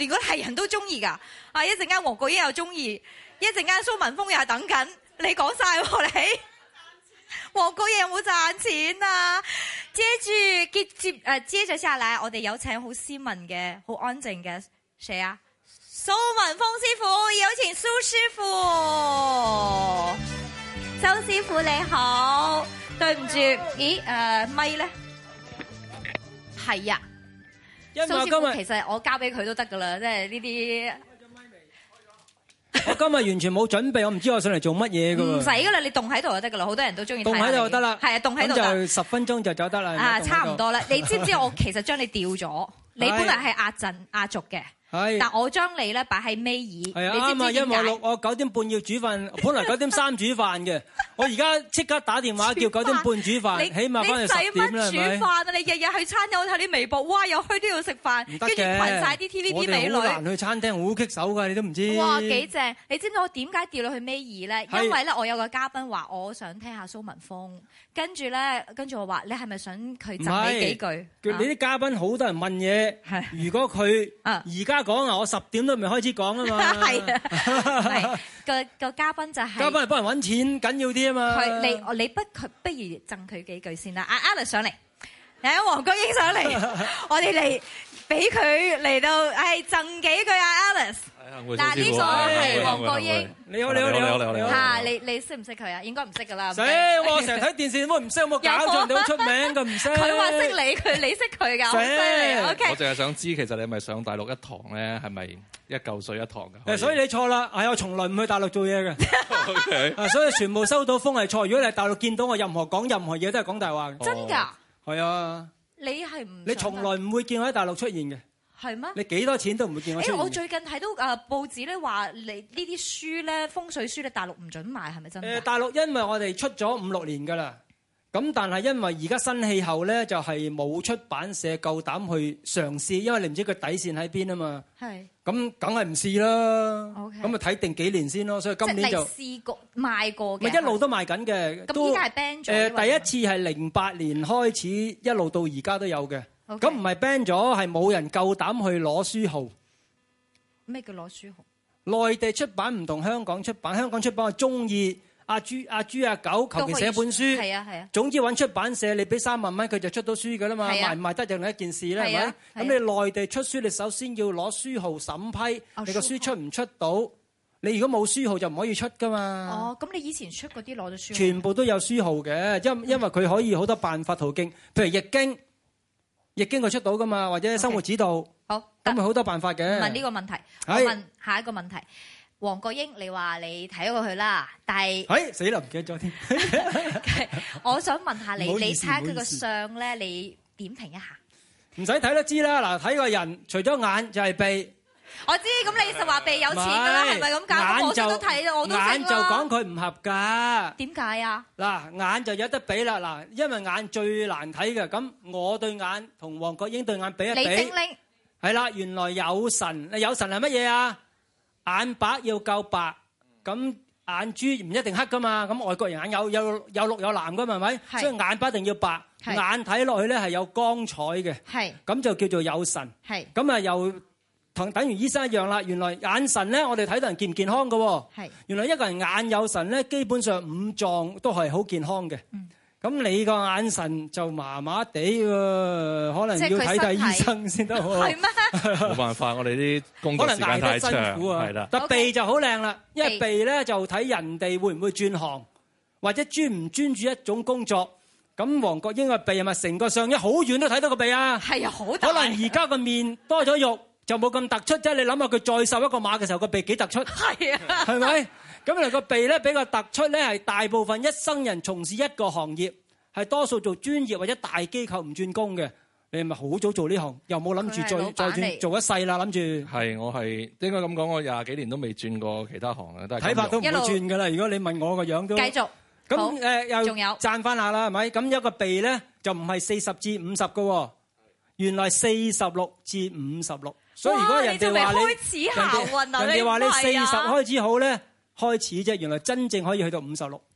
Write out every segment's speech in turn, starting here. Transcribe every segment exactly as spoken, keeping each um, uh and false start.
邊嗰啲係人都中意㗎。啊，一陣間黃國英又中意，一陣間蘇文峰又係等緊。你講晒喎你。黃國英有冇賺錢啊？接住接接誒，接着下來，我哋有請好斯文嘅、好安靜嘅，誰啊？蘇文峰師傅，有請蘇師傅。周師傅你好，對唔住，咦誒咪咧？係啊，蘇師傅其實我交俾佢都得噶啦，即係呢啲。 我今日完全冇準備，我唔知我上嚟做乜嘢噶喎。 唔使噶啦，你凍喺度就得噶啦，好多人都中意。 凍喺度就得啦。 係啊，凍喺度咁就十分鐘就走得啦。 啊，差唔多啦。你知唔知我其實將你調咗？你本來係壓陣壓軸嘅。係，但我將你咧擺喺尾二。係啊，啱啊，因為六我九點半要煮飯，本來九點三煮飯嘅，我而家即刻打電話叫九點半煮飯，起碼翻去十點啦，係咪？你使乜煮飯啊？你日日去餐廳，我睇啲微博，哇，又去都要食飯，跟住群曬啲 T V B 美女。我哋好難去餐廳，好棘手㗎，你都唔知。哇，幾正！你知唔知我點解調落去尾二咧？因為咧，我有個嘉賓話，我想聽下蘇文峰，跟住咧，跟住我話，你係咪想佢贈你幾句？你啲嘉賓好多人問嘢，如果佢而家講啊，我十點都未開始講啊嘛。係啊，係個個嘉賓就係嘉賓係幫人揾錢緊要啲啊嘛。佢你你不佢不如贈佢幾句先啦。阿 Alex 上嚟，嚟黃國英上嚟，我哋嚟俾佢嚟到，係贈幾句啊 Alex。嗱，呢個係黃國英。你好，你好，你好，你好，你好。嚇，你你識唔識佢啊？應該唔識㗎啦。死！我成日睇電視，點解唔識？有冇搞錯？你好出名㗎，唔識。佢話識你，佢你識佢㗎，好犀利。OK。我淨係想知，其實你係咪上大陸一堂咧？係咪一嚿水一堂㗎？誒，所以你錯啦。係我從來唔去大陸做嘢嘅。OK。啊，所以全部收到風係錯。如果你喺大陸見到我任何講任何嘢，都係講大話嘅。真㗎？係啊。你係唔？你從來唔會見我喺大陸出現嘅。係咩？你幾多錢都唔會見我出現。誒，我最近睇到誒報紙咧話，你呢啲書咧風水書咧大陸唔準賣，係咪真？誒，大陸因為我哋出咗五六年㗎啦，咁但係因為而家新氣候咧，就係冇出版社夠膽去嘗試，因為你唔知佢底線喺邊啊嘛。係。咁梗係唔試啦。OK。咁咪睇定幾年先咯，所以今年就試過賣過嘅。咪一路都賣緊嘅。咁依家係 ban 咗。誒，第一次係零八年開始，一路到而家都有嘅。咁唔係 ban 咗，係冇人夠膽去攞書號。咩叫攞書號？內地出版唔同香港出版，香港出版我中意阿豬阿豬阿狗，求其寫本書。係啊係啊。總之揾出版社，你俾三萬蚊佢就出到書㗎啦嘛。賣唔賣得就另一件事啦，係咪？咁你內地出書，你首先要攞書號審批，你個書出唔出到？你如果冇書號就唔可以出㗎嘛。哦，咁你以前出嗰啲攞咗書號？全部都有書號嘅，因因為佢可以好多辦法途徑，譬如易經。易經佢出到噶嘛，或者生活指導，好咁咪好多辦法嘅。問呢個問題，我問下一個問題。黃國英，你話你睇過佢啦，但係，哎死啦，唔記得咗添。我想問下你，你睇下佢個相咧，你點評一下？唔使睇都知啦，嗱，睇個人，除咗眼就係鼻。我知，咁你實話鼻有錢㗎啦，係咪咁講？我都睇，我都識啦。眼就講佢唔合格。點解啊？嗱，眼就有得比啦，嗱，因為眼最難睇嘅，咁我對眼同黃國英對眼比一比。李精靈。係啦，原來有神，有神係乜嘢啊？眼白要夠白，咁眼珠唔一定黑㗎嘛，咁外國人眼有有有綠有藍㗎嘛，係咪？所以眼白一定要白，眼睇落去咧係有光彩嘅，咁就叫做有神。咁啊又。同等於醫生一樣啦，原來眼神咧，我哋睇到人健唔健康嘅喎。係。原來一個人眼有神咧，基本上五臟都係好健康嘅。嗯。咁你個眼神就麻麻地喎，可能要睇睇醫生先得喎。係咩？冇辦法，我哋啲工作時間太長，係啦。但鼻就好靚啦，因為鼻咧就睇人哋會唔會轉行，或者專唔專注一種工作。咁黃國英個鼻係咪成個上一好遠都睇到個鼻啊？係啊，好大。可能而家個面多咗肉。就冇咁突出啫，你諗下佢再瘦一個碼嘅時候，個鼻幾突出？係啊，係咪？咁嚟個鼻咧比較突出咧，係大部分一生人從事一個行業，係多數做專業或者大機構唔轉工嘅。你係咪好早做呢行？又冇諗住再再轉做一世啦？諗住係我係應該咁講，我廿幾年都未轉過其他行啊，都係睇法都唔會轉噶啦。如果你問我個樣都繼續咁誒，又仲有讚翻下啦，係咪？咁一個鼻咧就唔係四十至五十個，原來四十六至五十六。所以如果人哋話你，人哋話你四十開始好咧，開始啫，原來真正可以去到五十六。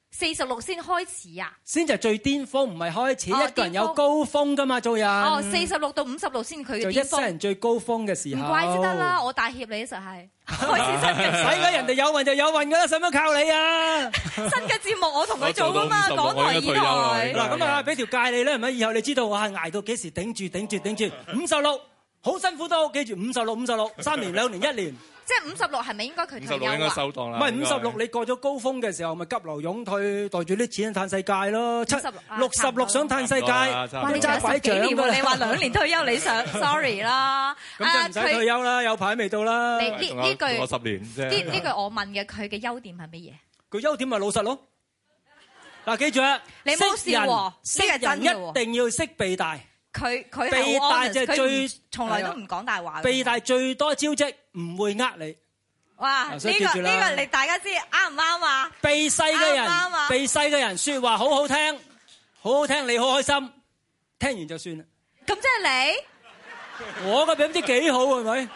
四十六先開始啊？ 先就係最巔峰，唔係開始。一個人有高峰噶嘛，做人。 哦，四十六到五十六先佢嘅巔峰。 就一生人最高峰嘅時候。 唔怪之得啦，我帶挈你實係開始新嘅。 使鬼人哋有運就有運噶啦，使乜靠你啊？ 新嘅節目我同佢做噶嘛，港台以台。 嗱咁啊，俾條界你啦，係咪？以後你知道我係捱到幾時頂住頂住頂住五十六，好辛苦都記住五十六五十六，三年兩年一年。 即係五十六係咪應該佢退休啊？ 五十六應該收檔啦。 唔係五十六，你過咗高峰嘅時候，咪急流勇退，袋住啲錢嘆世界咯。七六十六想嘆世界， 哇！你揸十幾年喎，你話兩年退休你想 sorry 啦。 咁就唔使退休啦，有排未到啦。 你呢呢句我十年啫。 呢呢句我問嘅佢嘅優點係乜嘢？ 佢優點咪老實咯。嗱，記住啊， 你冇笑喎， 識人一定要識避大。 佢佢避大就係最從來都唔講大話。 避大最多招積，唔會呃你。 哇！呢個呢個你大家知啱唔啱啊？ 避世嘅人，避世嘅人説話好好聽，好好聽，你好開心，聽完就算啦。 咁即係你？我嘅比唔知幾好係咪？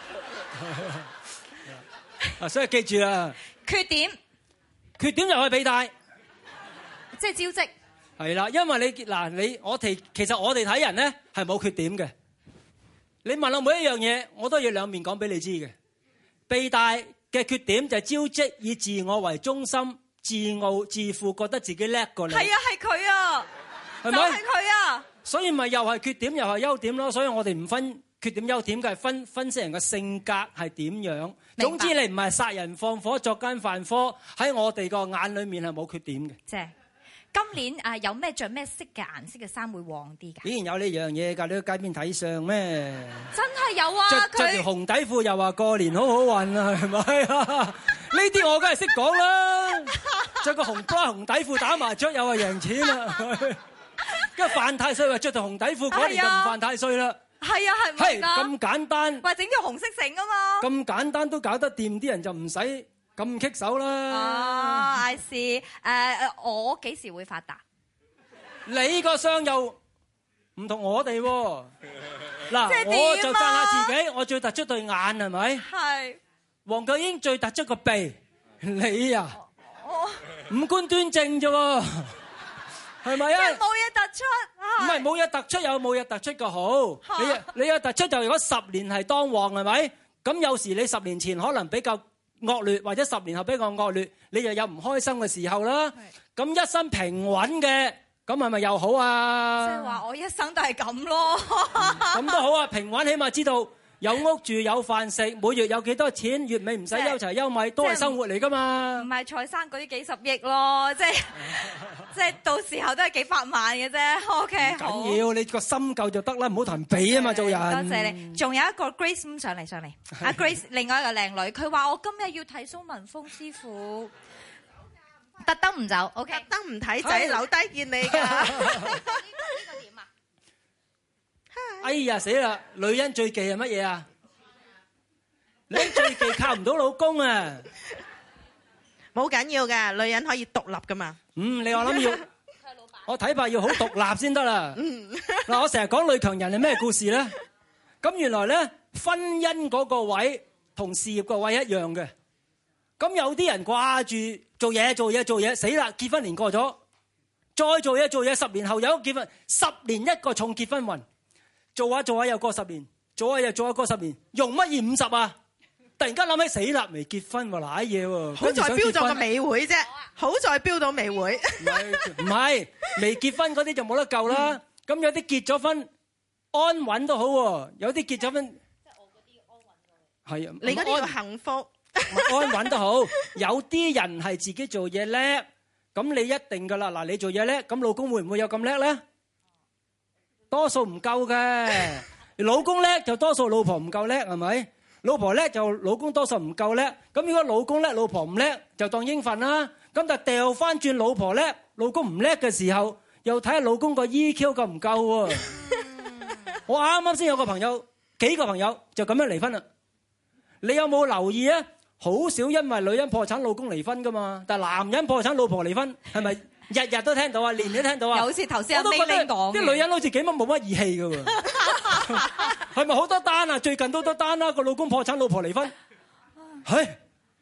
啊，所以記住啦。 缺點， 缺點就係避大， 即係招積。 係啦，因為你嗱你我哋其實我哋睇人咧係冇缺點嘅。你問我每一樣嘢，我都要兩面講俾你知嘅。避大嘅缺點就係招積，以自我為中心，自傲自負，覺得自己叻過你。 係啊，係佢啊， 係咪？ 就係佢啊。 所以咪又係缺點又係優點咯。所以我哋唔分缺點優點嘅，係分分析人嘅性格係點樣。總之你唔係殺人放火作奸犯科，喺我哋個眼裏面係冇缺點嘅。 即係今年啊，有咩着咩色嘅顏色嘅衫會旺啲㗎？ 依然有呢樣嘢㗎，你喺街邊睇相咩？ 真係有啊！ 着着條紅底褲又話過年好好運啊，係咪啊？呢啲我梗係識講啦。着個紅 bra 紅底褲打麻雀又話贏錢啦。因為犯太歲話着條紅底褲嗰年就唔犯太歲啦。 係啊，係咪㗎？ 咁簡單。 喂，整條紅色繩啊嘛。 咁簡單都搞得掂，啲人就唔使咁棘手啦。 啊 I see，誒我幾時會發達？ 你個相又唔同我哋喎。嗱，我就讚下自己，我最突出對眼係咪？係。黃巨英最突出個鼻，你啊，五官端正啫喎，係咪啊？ 即係冇嘢突出。 唔係冇嘢突出，有冇嘢突出個好。你你有突出就如果十年係當旺係咪？咁有時你十年前可能比較惡劣，或者十年後比較惡劣，你又有唔開心嘅時候啦。咁一生平穩嘅，咁係咪又好啊？ 即係話我一生都係咁咯。 咁都好啊，平穩起碼知道有屋住有飯食，每月有幾多錢，月尾唔使憂柴憂米，都係生活嚟㗎嘛。 唔係蔡生嗰啲幾十億咯，即係即係到時候都係幾百萬嘅啫。OK，好。 緊要你個心夠就得啦，唔好同人比啊嘛，做人。 多謝你。仲有一個 Grace 上嚟上嚟，阿 Grace 另外一個靚女，佢話我今日要睇蘇文峰師傅，特登唔走 ，OK， 特登唔睇仔留低見你㗎。呢個點啊？ 哎呀死啦！女人最忌係乜嘢啊？女人最忌靠唔到老公啊！ 冇緊要㗎，女人可以獨立㗎嘛。 嗯，你我諗要，我睇怕要好獨立先得啦。嗱，我成日講女強人係咩故事咧？咁原來咧，婚姻嗰個位同事業個位一樣嘅。咁有啲人掛住做嘢做嘢做嘢，死啦！結婚年過咗，再做嘢做嘢，十年後有結婚，十年一個重結婚運。做下做下又過十年，做下又做下過十年，用乜嘢五十啊？突然間諗起死啦，未結婚喎，瀨嘢喎。 好在標咗個美會啫，好在標到美會。 唔係唔係，未結婚嗰啲就冇得救啦。咁有啲結咗婚安穩都好喎，有啲結咗婚即係我嗰啲安穩嘅。係啊， 你嗰啲叫幸福。 安穩都好，有啲人係自己做嘢叻，咁你一定噶啦。嗱，你做嘢叻，咁老公會唔會有咁叻咧？多數唔夠嘅，老公叻就多數老婆唔夠叻，係咪？老婆叻就老公多數唔夠叻。咁如果老公叻，老婆唔叻，就當應份啦。咁但係掉翻轉，老婆叻，老公唔叻嘅時候，又睇下老公個 E Q 夠唔夠喎。我啱啱先有個朋友，幾個朋友就咁樣離婚啦。你有冇留意啊？好少因為女人破產，老公離婚噶嘛。但係男人破產，老婆離婚，係咪？日日都聽到啊，年年都聽到啊。 有好似頭先阿 May 講， 啲女人好似幾乜冇乜義氣㗎喎。係咪好多單啊？最近都多單啦，個老公破產，老婆離婚。係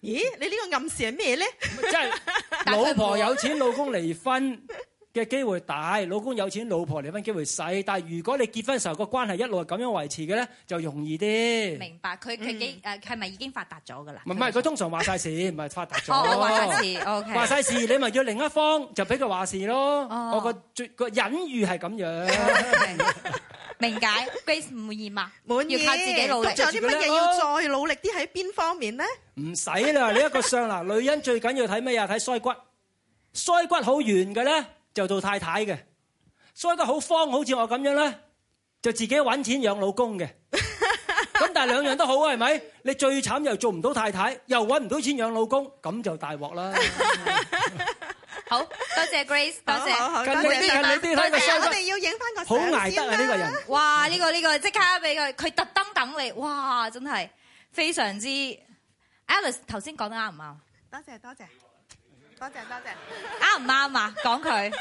咦？你呢個暗示係咩咧？ 即係老婆有錢，老公離婚嘅機會大；老公有錢，老婆離婚機會細。但係如果你結婚時候個關係一路係咁樣維持嘅咧，就容易啲。 明白，佢佢幾誒係咪已經發達咗㗎啦？ 唔係，佢通常話晒事，唔係發達咗。 哦，話晒事 ，OK。話晒事，你咪要另一方就俾佢話事咯。哦、我個最個隱喻係咁樣。 Okay. 明解 ，Grace 唔滿意嘛？滿意，要靠自己努力。 咁仲有啲乜嘢要再努力啲喺邊方面咧？ 唔使啦，你一個相嗱，女人最緊要睇咩啊？睇腮骨，腮骨好圓嘅咧，就做太太嘅；腮骨好方，好似我咁樣咧，就自己揾錢養老公嘅。咁但係兩樣都好啊，係咪？你最慘又做唔到太太，又揾唔到錢養老公，咁就大鑊啦。 好多謝 Grace， 多謝， 近你啲，近你啲，睇個腮骨， 我哋要影翻個好捱得啊！呢個人， 哇！呢個呢個即刻俾佢，佢特登等你，哇！真係非常之 Alice 頭先講得啱唔啱？ 多謝多謝多謝多謝， 啱唔啱啊？講佢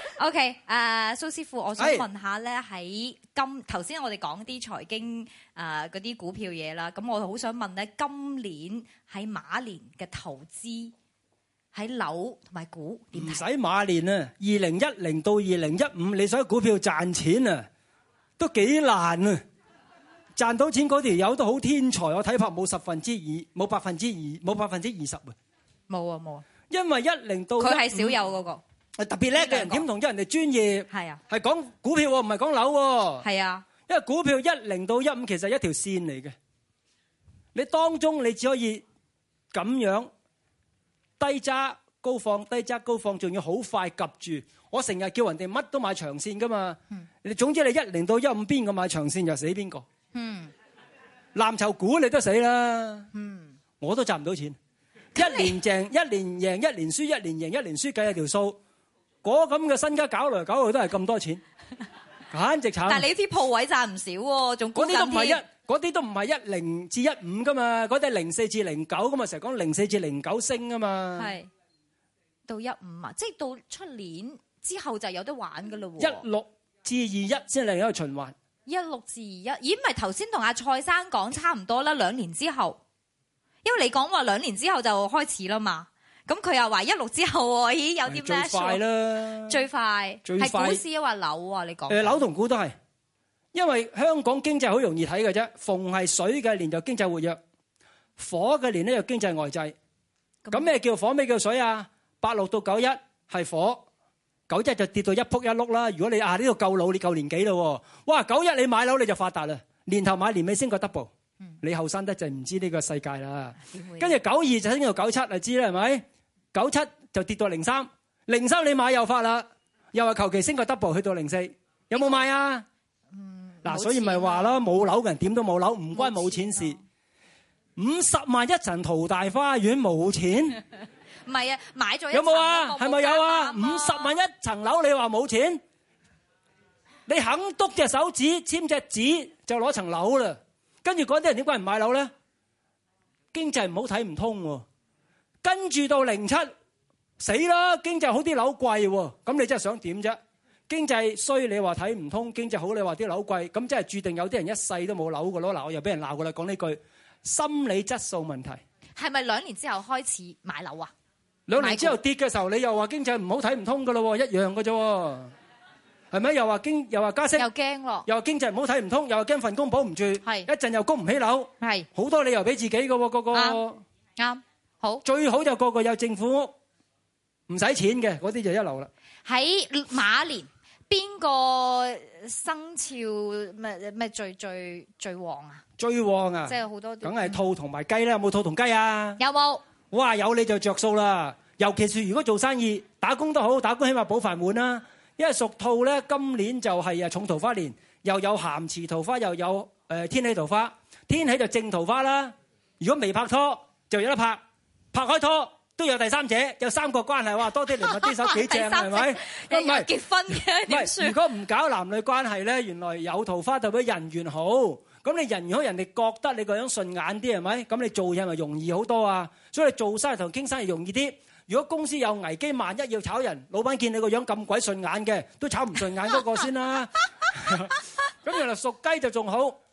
OK 誒，蘇師傅，我想問下咧，喺今頭先我哋講啲財經誒嗰啲股票嘢啦，咁我好想問咧，今年喺馬年嘅投資。喺樓同埋股點睇？唔使馬年啊！二零一零到二零一五，你想股票賺錢啊，都幾難啊！賺到錢嗰條友都好天才，我睇怕冇十分之二，冇百分之二，冇百分之二十啊！ 冇啊冇啊！ 因為一零到佢係少有嗰個， 係特別叻嘅人，點同咗人哋專業？係啊，係講股票喎，唔係講樓喎。係啊，因為股票一零到一五其實係一條線嚟嘅，你當中你只可以咁樣。低揸高放，低揸高放，仲要好快及住。我成日叫人哋乜都買長線噶嘛。你、嗯、總之你一零到一五邊個買長線就死邊個。嗯，藍籌股你都死啦。嗯，我都賺唔到錢。一年贏一年贏一年輸，一年贏一年輸，計下條數。嗰咁嘅身家搞來搞去都係咁多錢，簡直慘。但係你啲鋪位賺唔少喎，仲嗰啲都唔係一。嗰啲都唔係一零至一五噶嘛，嗰啲係零四至零九噶嘛，成日講零四至零九升啊嘛。係到一五啊，即係到出年之後就有得玩噶咯喎。一六至二一先嚟一個循環。一六至二一，咦？唔係頭先同阿蔡生講差唔多啦，兩年之後，因為你講話兩年之後就開始啦嘛。咁佢又話一六之後喎，咦？有啲咩？最快啦，最快係股市啊，話樓啊？你講誒樓同股都係。因為香港經濟好容易睇嘅啫，逢係水嘅年就經濟活躍，火嘅年咧就經濟呆滯。咁咩叫火？咩叫水啊？八六到九一係火，九一就跌到一仆一碌啦。如果你啊呢度夠老，你夠年紀咯，哇！九一你買樓你就發達啦，年頭買年尾升個 double。你後生得就唔知呢個世界啦。跟住九二就升到九七就知啦，係咪？九七就跌到零三，零三你買又發啦，又話求其升個 double 去到零四，有冇買啊？嗱，所以咪話咯，冇樓嘅人點都冇樓，唔關冇錢事。五十萬一層淘大花園冇錢？唔係啊，買咗一層有冇啊？係咪有啊？五十萬一層樓，你話冇錢？你肯篤隻手指簽隻紙就攞層樓啦。跟住嗰啲人點解唔買樓咧？經濟唔好睇唔通喎。跟住到零七死啦，經濟好啲樓貴喎，咁你真係想點啫？經濟衰，你話睇唔通；經濟好，你話啲樓貴，咁即係注定有啲人一世都冇樓㗎咯。嗱，我又俾人鬧㗎啦，講呢句心理質素問題。係咪兩年之後開始買樓啊？兩年之後跌嘅時候，你又話經濟唔好睇唔通㗎咯，一樣㗎啫。係咪？又話經又話加息，又驚咯，又話經濟唔好睇唔通，又話驚份工保唔住，係一陣又供唔起樓，係好多理由俾自己㗎喎，個個啱好最好就個個有政府屋，唔使錢嘅嗰啲就一流啦。喺馬年。邊個生肖咩咩最最最旺啊？最旺啊！即係好多，梗係兔同埋雞啦。有冇兔同雞啊？有冇？哇！有你就着數啦。尤其是如果做生意、打工都好，打工起碼保飯碗啦。因為屬兔咧，今年就係啊重桃花年，又有咸池桃花，又有誒、呃、天喜桃花。天喜就正桃花啦。如果未拍拖就有得拍，拍開拖。都有第三者，有三角關係，哇！多啲嚟啲手幾正係咪？唔係結婚嘅點算？如果唔搞男女關係咧，原來有桃花代表人緣好。咁你人緣好，人哋覺得你個樣順眼啲係咪？咁你做嘢咪容易好多啊？所以你做生意同傾生意容易啲。如果公司有危機，萬一要炒人，老闆見你個樣咁鬼順眼嘅，都炒唔順眼嗰個先啦。咁原來屬雞就仲好。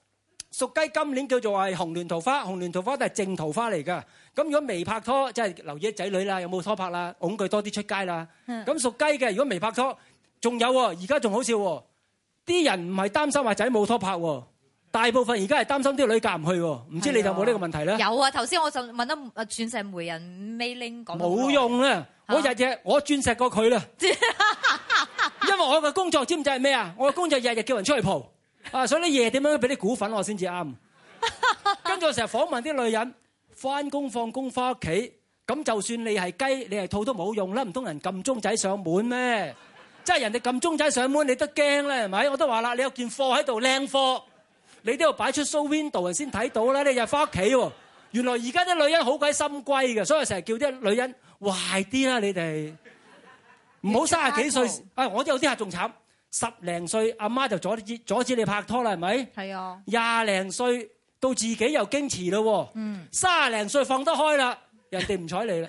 屬雞今年叫做係紅鸞桃花，紅鸞桃花都係正桃花嚟㗎。咁如果未拍拖，即係留意仔女啦，有冇拖拍啦，擁佢多啲出街啦。咁屬雞嘅，如果未拍拖，仲有喎，而家仲好笑喎，啲人唔係擔心話仔冇拖拍喎，大部分而家係擔心啲女嫁唔去喎。唔知你有冇呢個問題咧？有啊，頭先我就問得啊鑽石媒人 Meiling 講冇用啦，我日日我鑽石過佢啦，因為我嘅工作知唔知係咩啊？我嘅工作日日叫人出去蒲。啊！所以你夜點樣俾啲股份我先至啱。跟住我成日訪問啲女人，翻工放工翻屋企，咁就算你係雞，你係兔都冇用啦，唔通人撳鐘仔上門咩？即係人哋撳鐘仔上門，你都驚啦，係咪？我都話啦，你有件貨喺度靚貨，你都要擺出 show window 人先睇到啦。你又翻屋企喎，原來而家啲女人好鬼心歸嘅，所以成日叫啲女人壞啲啦，你哋唔好三十幾歲。啊，我都有啲客仲慘。十零歲阿媽就阻止阻止你拍拖啦，係咪？係啊。廿零歲到自己又矜持咯，嗯。卅零歲放得開啦，人哋唔睬你啦。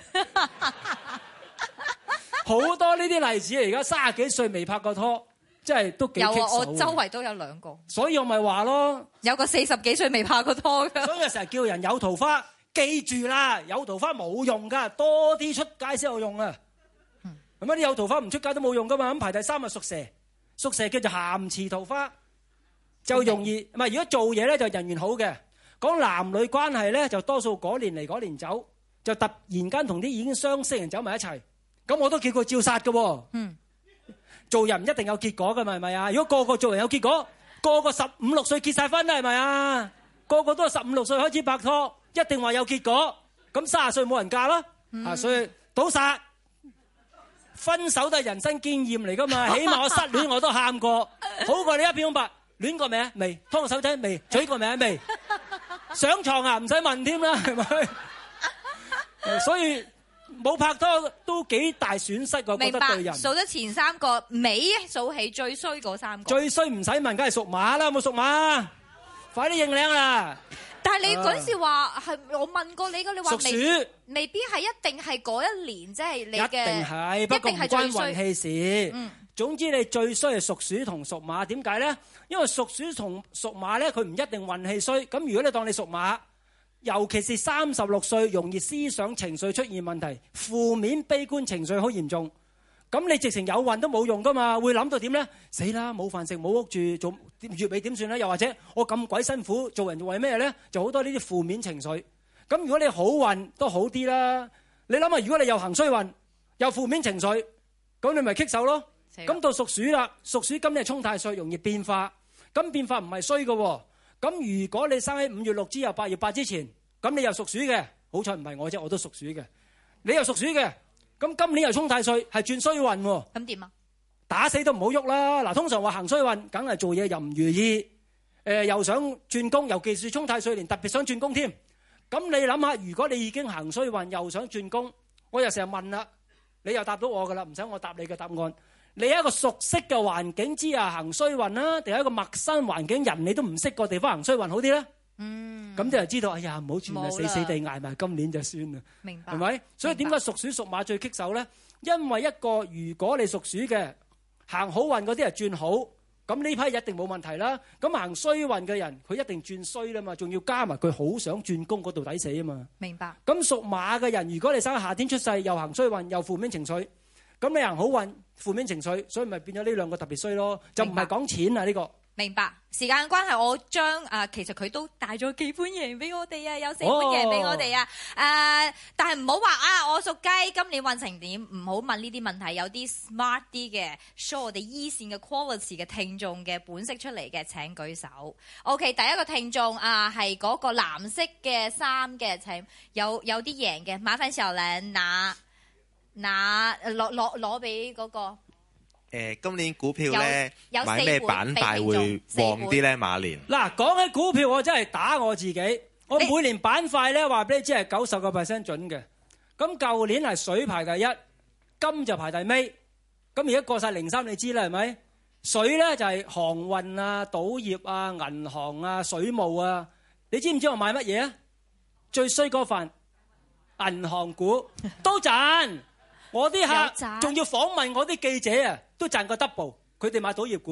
好多呢啲例子，而家卅幾歲未拍過拖，真係都幾棘手。有啊，我周圍都有兩個。所以我咪話咯，有個四十幾歲未拍過拖㗎。所以成日叫人有桃花，記住啦，有桃花冇用㗎，多啲出街先有用啊。咁啊啲有桃花唔出街都冇用㗎嘛。咁排第三係屬蛇。屬蛇叫做咸池桃花，就容易唔係。如果做嘢咧就人緣好嘅，講男女關係咧就多數嗰年嚟嗰年走，就突然間同啲已經相識人走埋一齊，咁我都叫佢照殺嘅喎。嗯，做人唔一定有結果嘅嘛，係咪啊？如果個個做人有結果，個個十五六歲結晒婚啦，係咪啊？個個都係十五六歲開始拍拖，一定話有結果，咁三十歲冇人嫁啦。啊，所以倒殺。分手都係人生經驗嚟噶嘛，起碼我失戀我都喊過，好過你一片空白。戀過未啊？未。拖個手仔未？嘴過未啊？未。上床啊？唔使問添啦，係咪？所以冇拍拖都幾大損失，我覺得對人。 數得前三個，尾數起最衰嗰三個。 最衰唔使問，梗係屬馬啦，有冇屬馬？快啲認領啦！ 但係你嗰陣時話係我問過你㗎，你話未未必係一定係嗰一年，即係你嘅一定係，不過唔關運氣事。嗯，總之你最衰係屬鼠同屬馬，點解咧？因為屬鼠同屬馬咧，佢唔一定運氣衰。咁如果你當你屬馬，尤其是三十六歲，容易思想情緒出現問題，負面悲觀情緒好嚴重。咁你直情有運都冇用噶嘛，會諗到點咧？死啦，冇飯食冇屋住，做月尾點算咧？又或者我咁鬼辛苦做人為咩咧？就好多呢啲負面情緒。咁如果你好運都好啲啦。你諗下，如果你又行衰運又負面情緒，咁你咪棘手咯。咁到屬鼠啦，屬鼠今年係沖太歲，容易變化。咁變化唔係衰嘅。咁如果你生喺五月六之後八月八之前，咁你又屬鼠嘅，好彩唔係我啫，我都屬鼠嘅。你又屬鼠嘅。咁今年又沖太歲，係轉衰運喎。咁點啊？打死都唔好喐啦！嗱，通常話行衰運，梗係做嘢又唔如意，誒、呃、又想轉工，尤其是沖太歲年，特別想轉工添。咁你諗下，如果你已經行衰運，又想轉工，我又成日問啦，你又答到我噶啦，唔使我答你嘅答案。你喺一個熟悉嘅環境之下行衰運啦，定係一個陌生環境，人你都唔識個地方行衰運好啲咧？嗯，咁就知道，哎呀，唔好轉啦，死死地捱埋今年就算啦。明白，係咪？所以點解屬鼠屬馬最棘手咧？因為一個如果你屬鼠嘅行好運嗰啲係轉好，咁呢批一定冇問題啦。咁行衰運嘅人，佢一定轉衰啦嘛，仲要加埋佢好想轉工嗰度抵死啊嘛。明白。咁屬馬嘅人，如果你生喺夏天出世，又行衰運，又負面情緒，咁你行好運，負面情緒，所以咪變咗呢兩個特別衰咯。就唔係講錢啊呢個。明白，時間關係，我將啊，其實佢都帶咗幾本嘢俾我哋啊，有四本嘢俾我哋啊。誒、哦呃，但係唔好話啊，我屬雞今年運程點？唔好問呢啲問題，有啲 smart 啲嘅 show 我哋依線嘅 quality 嘅聽眾嘅本色出嚟嘅，請舉手。OK，第一個聽眾啊，係嗰個藍色嘅衫嘅，請有有啲贏嘅，麻煩小蘭拿拿攞攞攞俾嗰個。 誒，今年股票咧買咩板塊會旺啲咧？馬年嗱，講起股票，我真係打我自己。我每年板塊咧話俾你知係九十個 percent 準嘅。咁舊年係水排第一，金就排第尾。咁而家過晒零三，你知啦係咪？水咧就係航運啊、賭業啊、銀行啊、水務啊。你知唔知我買乜嘢啊？最衰嗰份銀行股都賺。我啲客仲要訪問我啲記者啊，都賺個 double。佢哋買賭業股，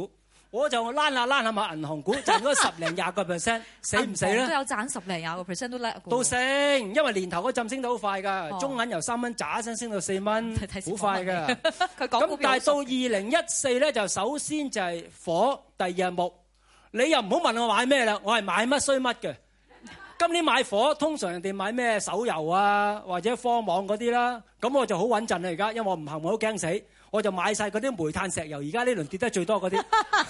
我就躝下躝下買銀行股，賺咗十零廿個 percent， 死唔死咧？ 都有賺十零廿個 percent 都叻嘅。 都升，因為年頭嗰陣升得好快㗎，中銀由三蚊喳一聲升到四蚊，好快㗎。咁但係到二零一四咧，就首先就係火，第二係木。你又唔好問我買咩啦，我係買乜衰乜嘅。今年買火，通常人哋買咩手遊啊，或者科網嗰啲啦，咁我就好穩陣啦而家，因為我唔行我都驚死，我就買晒嗰啲煤炭石油，而家呢輪跌得最多嗰啲。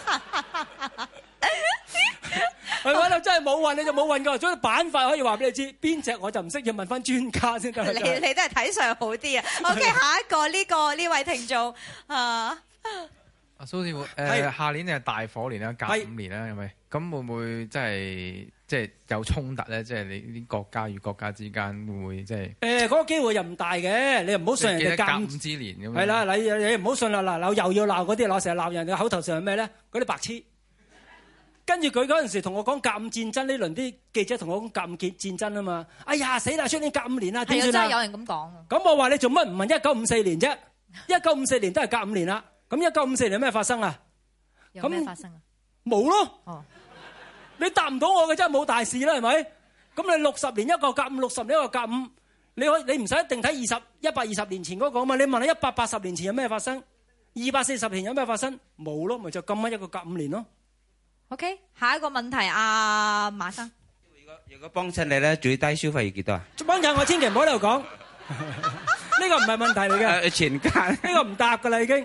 係咪？真係冇運你就冇運㗎，所以板塊可以話俾你知，邊隻我就唔識，要問翻專家先得。 你你都係睇上好啲啊。OK， 下一個呢個呢位聽眾啊。 阿蘇師傅，誒下年係大火年啦，甲午年啦，係咪？咁會唔會即係即係有衝突咧？即係你啲國家與國家之間會唔會即係？誒嗰個機會又唔大嘅，你又唔好信人哋甲午之年咁。係啦，你你唔好信啦，嗱嗱又要鬧嗰啲，攞成日鬧人嘅口頭上係咩咧？嗰啲白痴。跟住佢嗰陣時同我講甲午戰爭呢輪啲記者同我講甲午戰戰爭啊嘛，哎呀死啦！出年甲午年啦，點算啊？ 真係有人咁講。咁我話你做乜唔問一九五四年啫？一九五四年都係甲午年啦。咁一九五四年有咩發生啊？ 有咩發生啊？冇咯。哦，你答唔到我嘅真係冇大事啦，係咪？咁你六十年一個甲午，六十年一個甲午，你可以你唔使一定睇二十一百二十年前嗰個啊嘛？你問下一百八十年前有咩發生？二百四十年有咩發生？冇咯，咪就咁啱一個甲午年咯。 OK， 下一個問題啊，馬生。 如果如果幫襯你咧，最低消費要幾多啊？ 幫襯我千祈唔好喺度講，呢個唔係問題嚟嘅。 全家呢個唔答㗎啦已經。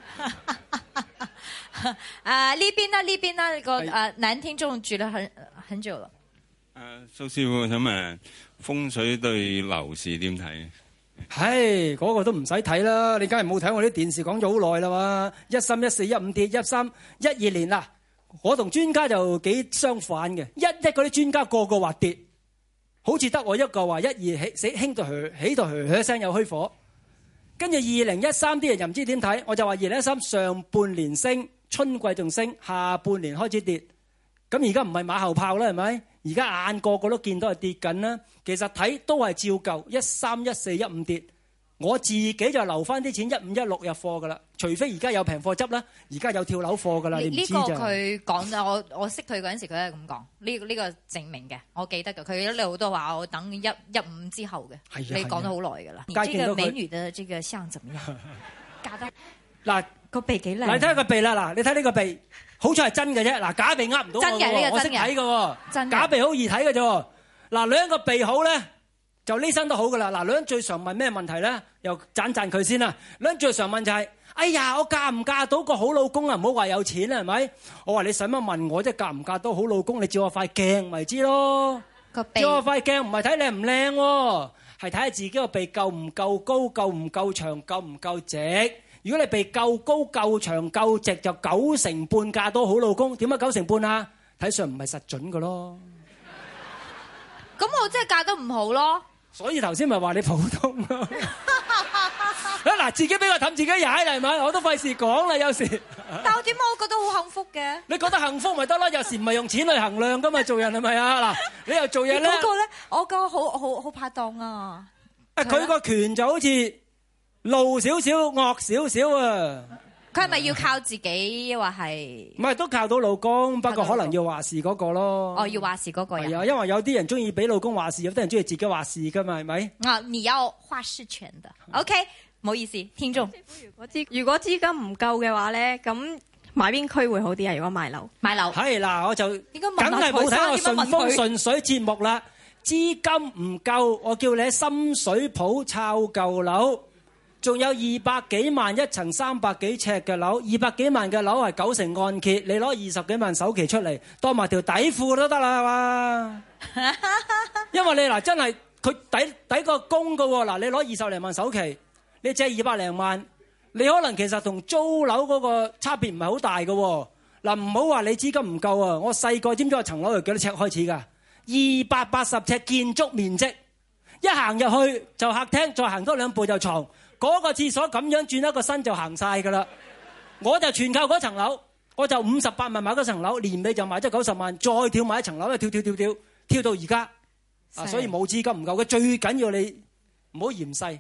誒呢邊啦，呢邊啦，個誒男聽眾住咗很很久啦。 誒蘇師傅想問風水對樓市點睇？ 唉，嗰個都唔使睇啦，你梗係冇睇我啲電視講咗好耐啦嘛。一三一四一五跌，一三一二年啦。我同專家就幾相反嘅，一一嗰啲專家個個話跌，好似得我一個話一二起死興到起起到噓噓聲有虛火。跟住二零一三啲人又唔知點睇，我就話二零一三上半年升，春季仲升，下半年開始跌。咁而家唔係馬後炮啦，係咪？而家眼個個都見到係跌緊啦。其實睇都係照舊，一三一四一五跌。我自己就留翻啲錢一五一六入貨噶啦，除非而家有平貨執啦，而家有跳樓貨噶啦，你唔知咋？呢個佢講咗，我我識佢嗰陣時，佢係咁講，呢呢個證明嘅，我記得嘅。佢一路都話我等一一五之後嘅，你講咗好耐噶啦。你這個美女的這個相怎麼樣？假得嗱個鼻幾靚？你睇下個鼻啦，嗱你睇呢個鼻，好彩係真嘅啫。嗱假鼻呃唔到我嘅，我識睇嘅喎。假鼻好易睇嘅啫。嗱兩個鼻好咧。就呢身都好噶啦，嗱，女人最常問咩問題咧？又讚讚佢先啦。女人最常問就係、是：哎呀，我嫁唔嫁到個好老公啊？唔好話有錢啦，係咪？我話你使乜問我啫？嫁唔嫁到好老公？你照我塊鏡咪知咯。個鼻照我塊鏡唔係睇靚唔靚喎，係睇下自己個鼻夠唔夠高、夠唔夠長、夠唔夠直。如果你鼻夠高、夠長、夠直，就九成半嫁到好老公。點解九成半啊？睇上唔係實準噶咯。 咁我真係嫁得唔好咯。 所以頭先咪話你普通咯，嗱自己俾我氹自己踩嚟係咪？我都費事講啦，有時。 但我點解我覺得好幸福嘅？ 你覺得幸福咪得咯？有時唔係用錢去衡量噶嘛，做人係咪啊？嗱，你又做嘢咧？ 嗰個咧，我個好好好拍檔啊！ 啊，佢個拳就好似露少少、惡少少啊！ 佢係咪要靠自己，或係？唔係都靠到老公，不過可能要話事嗰個咯。 哦，要話事嗰個人。係啊， 因為有啲人中意俾老公話事，有啲人中意自己話事噶嘛，係咪？ 啊，你要話事權的。OK，唔好意思，聽眾。 如果資如果資金唔夠嘅話咧，咁買邊區會好啲啊？如果買樓， 買樓。係嗱，我就梗係冇睇我順風順水節目啦。資金唔夠，我叫你喺深水埗抄舊樓。仲有二百幾萬一層三百幾尺嘅樓，二百幾萬嘅樓係九成按揭，你攞二十幾萬首期出嚟，當埋條底褲都得啦，係嘛？因為你嗱真係佢抵抵個供㗎喎，嗱你攞二十零萬首期，你借二百零萬，你可能其實同租樓嗰個差別唔係好大㗎喎。嗱唔好話你資金唔夠啊！我細個知唔知我層樓由幾多尺開始㗎？二百八十尺建築面積，一行入去就客廳，再行多兩步就床。嗰個廁所咁樣轉一個身就行晒㗎啦，我就全靠嗰層樓，我就五十八萬買嗰層樓，年尾就買咗九十萬，再跳買一層樓，跳跳跳跳跳到而家，啊！所以冇資金唔夠嘅，最緊要你唔好嫌細。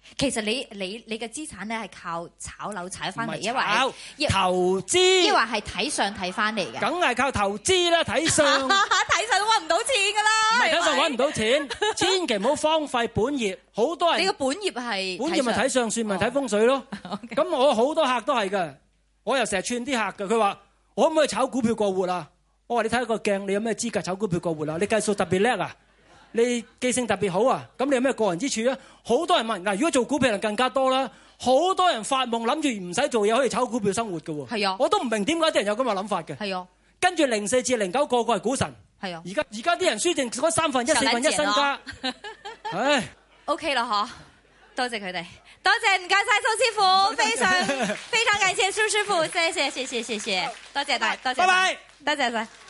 其實你你你嘅資產咧係靠炒樓炒翻嚟，因為投資， 抑或係睇相睇翻嚟嘅。 梗係靠投資啦，睇相睇相都揾唔到錢㗎啦。 唔係睇相揾唔到錢，千祈唔好荒廢本業。好多人你個本業係本業咪睇相算咪睇風水咯。咁我好多客都係㗎，我又成日串啲客㗎。佢話我可唔可以炒股票過活啊？我話你睇個鏡，你有咩資格炒股票過活啊？你計數特別叻啊！你記性特別好啊！咁你有咩過人之處啊？好多人問嗱，如果做股票人更加多啦，好多人發夢諗住唔使做嘢可以炒股票生活嘅喎。係啊，我都唔明點解啲人有咁嘅諗法嘅。係啊，跟住零四至零九個個係股神。係啊，而家而家啲人輸剩嗰三分一、四分一身家。唉 ，OK 啦嗬，多謝佢哋，多謝唔該晒蘇師傅，非常非常感謝蘇師傅，謝謝謝謝謝謝，多謝大，多謝，拜拜，多謝晒。